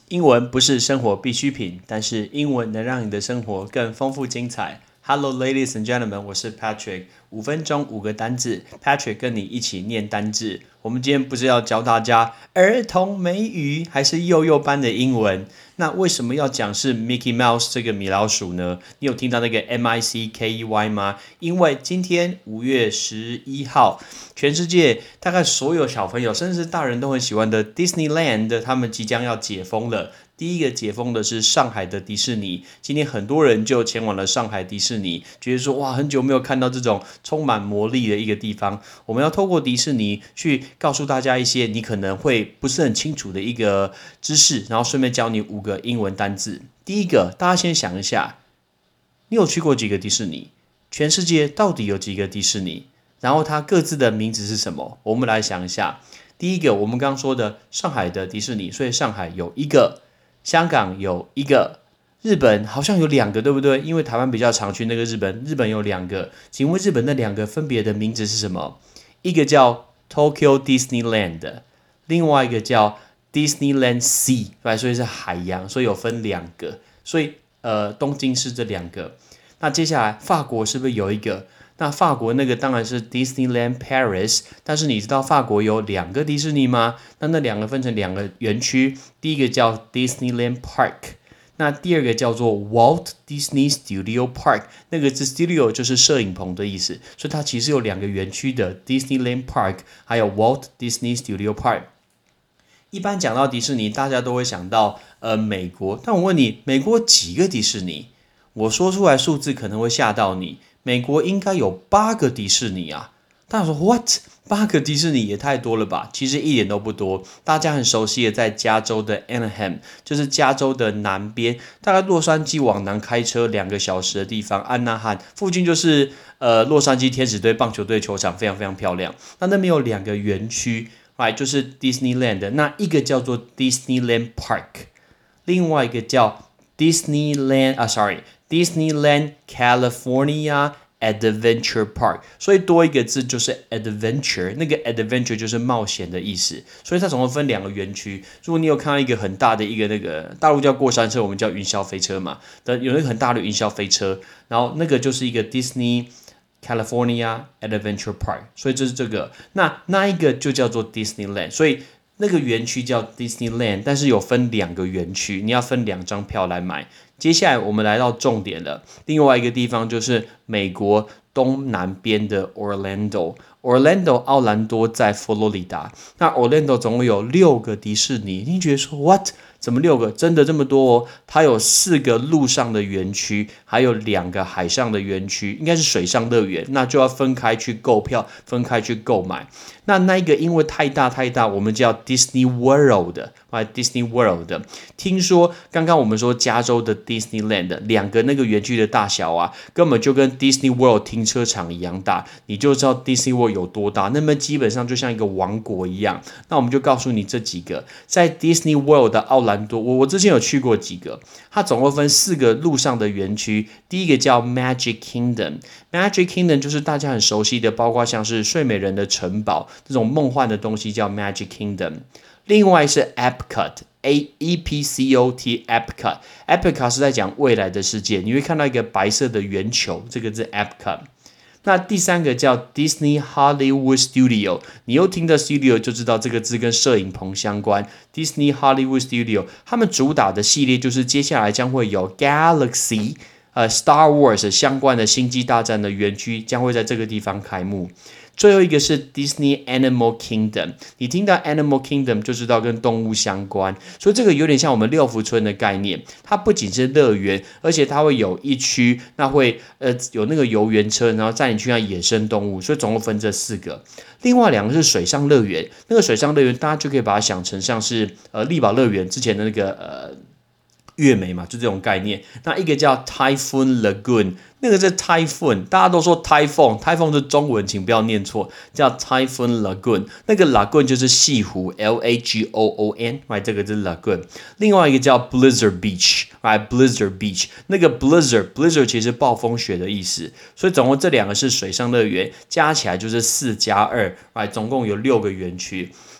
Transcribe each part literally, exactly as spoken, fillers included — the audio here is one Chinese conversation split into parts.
英文不是生活必需品，但是英文能让你的生活更丰富精彩。Hello, ladies and gentlemen， 我是 Patrick。五分钟五个单字 ，Patrick 跟你一起念单字。我们今天不是要教大家儿童美语，还是幼幼班的英文？那为什么要讲是 Mickey Mouse 这个米老鼠呢？你有听到那个 M I C K E Y 吗？因为今天五月十一号，全世界大概所有小朋友，甚至是大人都很喜欢的 Disneyland， 他们即将要解封了。第一个解封的是上海的迪士尼，今天很多人就前往了上海迪士尼，觉得说哇，很久没有看到这种充满魔力的一个地方。我们要透过迪士尼去告诉大家一些你可能会不是很清楚的一个知识，然后顺便教你五个英文单字。第一个，大家先想一下，你有去过几个迪士尼？全世界到底有几个迪士尼？然后它各自的名字是什么？我们来想一下。第一个，我们刚刚说的上海的迪士尼，所以上海有一个。香港有一个，日本好像有两个，对不对？因为台湾比较常去那个日本，日本有两个。请问日本那两个分别的名字是什么？一个叫 Tokyo Disneyland， 另外一个叫 Disneyland Sea， 对，所以是海洋，所以有分两个。所以呃，东京是这两个。那接下来法国是不是有一个？那法国那个当然是 Disneyland Paris， 但是你知道法国有两个迪士尼吗？那那两个分成两个园区，第一个叫 Disneyland Park， 那第二个叫做 Walt Disney Studio Park， 那个是 Studio 就是摄影棚的意思，所以它其实有两个园区的 Disneyland Park， 还有 Walt Disney Studio Park。一般讲到迪士尼，大家都会想到呃美国，但我问你，美国几个迪士尼？我说出来数字可能会吓到你。美国应该有八个迪士尼啊！大家说 what？ 八个迪士尼也太多了吧？其实一点都不多。大家很熟悉的，在加州的 Anaheim， 就是加州的南边，大概洛杉矶往南开车两个小时的地方，安纳汉附近就是呃洛杉矶天使队棒球队球场，非常非常漂亮。那那边有两个园区，哎，就是 Disneyland， 那一个叫做 Disneyland Park， 另外一个叫 Disneyland 啊 ，sorry。Disneyland California Adventure Park， 所以多一个字就是 adventure， 那个 adventure 就是冒险的意思，所以它总共分两个园区。如果你有看到一个很大的一个那个大陆叫过山车，我们叫云霄飞车嘛，有那个很大的云霄飞车，然后那个就是一个 Disney California Adventure Park， 所以这是这个，那那一个就叫做 Disneyland， 所以那个园区叫 Disneyland， 但是有分两个园区，你要分两张票来买。接下来我们来到重点了，另外一个地方就是美国东南边的 Orlando。Orlando 奥兰多在佛罗里达，那 Orlando 总共有六个迪士尼，你觉得说 what？ 怎么六个？真的这么多哦？它有四个陆上的园区，还有两个海上的园区，应该是水上乐园，那就要分开去购票，分开去购买。那那一个因为太大太大，我们叫 Disney World， 啊 Disney World。听说刚刚我们说加州的 Disneyland 两个那个园区的大小啊，根本就跟 Disney World 停车场一样大，你就知道 Disney World 有多大。那么基本上就像一个王国一样。那我们就告诉你这几个，在 Disney World 的奥兰多，我我之前有去过几个，它总共分四个陆上的园区。第一个叫 Magic Kingdom，Magic Kingdom 就是大家很熟悉的，包括像是睡美人的城堡这种梦幻的东西叫 Magic Kingdom。另外是 Epcot，A E P C O T，Epcot，Epcot 是在讲未来的世界，你会看到一个白色的圆球，这个是 Epcot。那第三个叫 Disney Hollywood Studio， 你又听到 Studio 就知道这个字跟摄影棚相关。Disney Hollywood Studio， 他们主打的系列就是接下来将会有 Galaxy， 呃 Star Wars 相关的星际大战的园区将会在这个地方开幕。最后一个是 Disney Animal Kingdom， 你听到 Animal Kingdom 就知道跟动物相关，所以这个有点像我们六福村的概念，它不仅是乐园，而且它会有一区，那会呃有那个游园车，然后载你去看野生动物，所以总共分这四个。另外两个是水上乐园，那个水上乐园大家就可以把它想成像是呃力宝乐园之前的那个呃月美嘛，就这种概念。那一个叫 Typhoon Lagoon， 那个是 Typhoon， 大家都说 Typhoon，Typhoon 是中文，请不要念错，叫 Typhoon Lagoon。那个 Lagoon 就是西湖 ，L A G O O N，right， 这个是 Lagoon。另外一个叫 Blizzard Beach，right， Blizzard Beach， 那个 Blizzard Blizzard 其实是暴风雪的意思，所以总共这两个是水上乐园，加起来就是四加二，right， 总共有六个园区。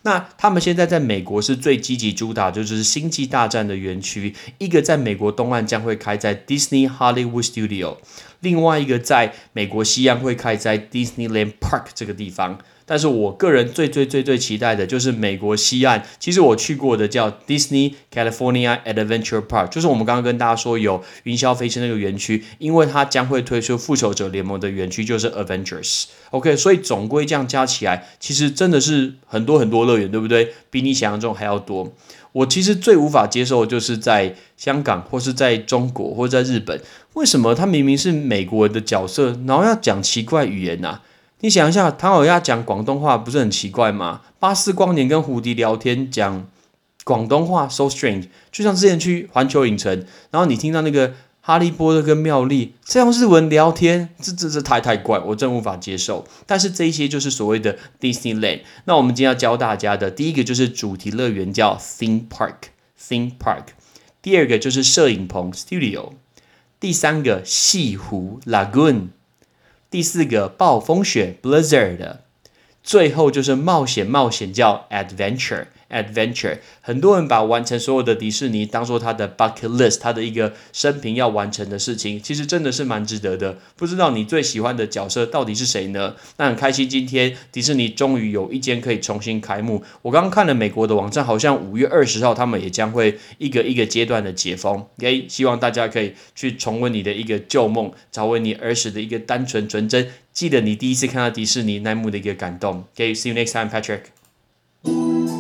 那他们现在在美国是最积极主打就是星际大战的园区，一个在美国东岸将会开在 Disney Hollywood Studio， 另外一个在美国西岸会开在 Disneyland Park 这个地方。但是我个人最最最最期待的就是美国西岸，其实我去过的叫 Disney California Adventure Park， 就是我们刚刚跟大家说有云霄飞车那个园区，因为它将会推出复仇者联盟的园区，就是 Avengers。OK， 所以总归这样加起来，其实真的是很多很多乐园，对不对？比你想象中还要多。我其实最无法接受的就是在香港或是在中国或者在日本，为什么他明明是美国人的角色，然后要讲奇怪语言啊？你想一下，唐老鸭讲广东话不是很奇怪吗？巴斯光年跟胡迪聊天讲广东话 ，so strange。就像之前去环球影城，然后你听到那个哈利波特跟妙丽这样日文聊天，这这这太太怪，我真无法接受。但是这一些就是所谓的 Disneyland。那我们今天要教大家的第一个就是主题乐园叫 theme park，theme park。第二个就是摄影棚 studio， 第三个西湖 lagoon。第四个暴风雪 blizzard， 最后就是冒险冒险叫 adventure adventure。 很多人把完成所有的迪士尼当做他的 bucket list， 他的一个生平要完成的事情，其实真的是蛮值得的。不知道你最喜欢的角色到底是谁呢？那很开心今天迪士尼终于有一间可以重新开幕。我刚刚看了美国的网站，好像五月二十号他们也将会一个一个阶段的解封。OK， 希望大家可以去重温你的一个旧梦，找回你儿时的一个单纯纯真，记得你第一次看到迪士尼那幕的一个感动。OK，see you next time, Patrick.